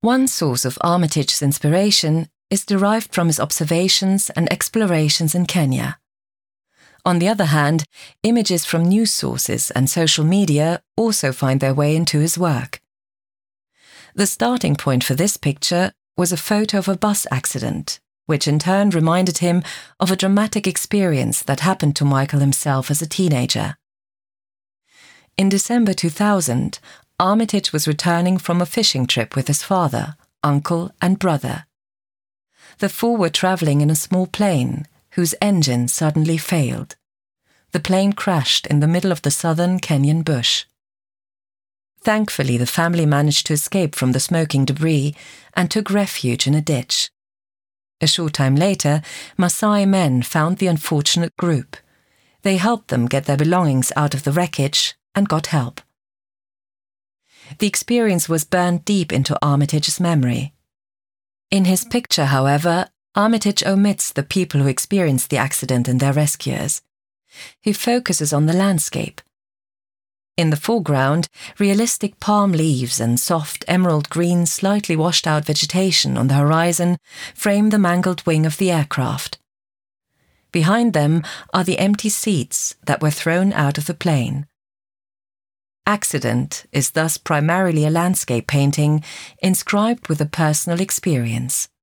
One source of Armitage's inspiration is derived from his observations and explorations in Kenya. On the other hand, images from news sources and social media also find their way into his work. The starting point for this picture was a photo of a bus accident, which in turn reminded him of a dramatic experience that happened to Michael himself as a teenager. In December 2000, Armitage was returning from a fishing trip with his father, uncle, and brother. The four were travelling in a small plane, whose engine suddenly failed. The plane crashed in the middle of the southern Kenyan bush. Thankfully, the family managed to escape from the smoking debris and took refuge in a ditch. A short time later, Maasai men found the unfortunate group. They helped them get their belongings out of the wreckage and got help. The experience was burned deep into Armitage's memory. In his picture, however, Armitage omits the people who experienced the accident and their rescuers. He focuses on the landscape. In the foreground, realistic palm leaves and soft emerald green, slightly washed out vegetation on the horizon frame the mangled wing of the aircraft. Behind them are the empty seats that were thrown out of the plane. Accident is thus primarily a landscape painting inscribed with a personal experience.